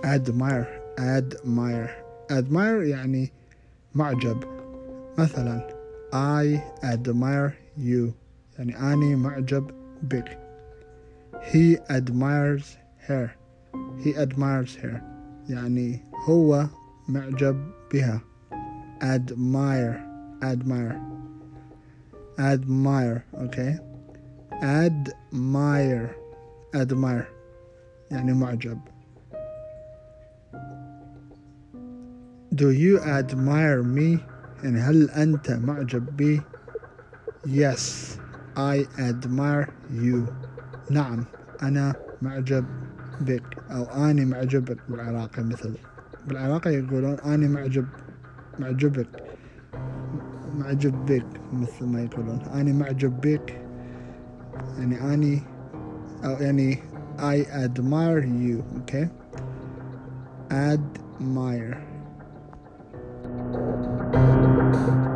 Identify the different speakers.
Speaker 1: admire admire يعني معجب. مثلا I admire you يعني أني معجب بك. He admires her يعني هو معجب بها. admire okay. admire يعني معجب. Do you admire me يعني هل أنت معجب بي؟ Yes I admire you نعم أنا معجب بك أو أني معجب بك بالعراقي. مثل بالعراقي يقولون أني معجب بك مثل ما يقولون أني معجب بك يعني أني أو يعني I admire you okay. admire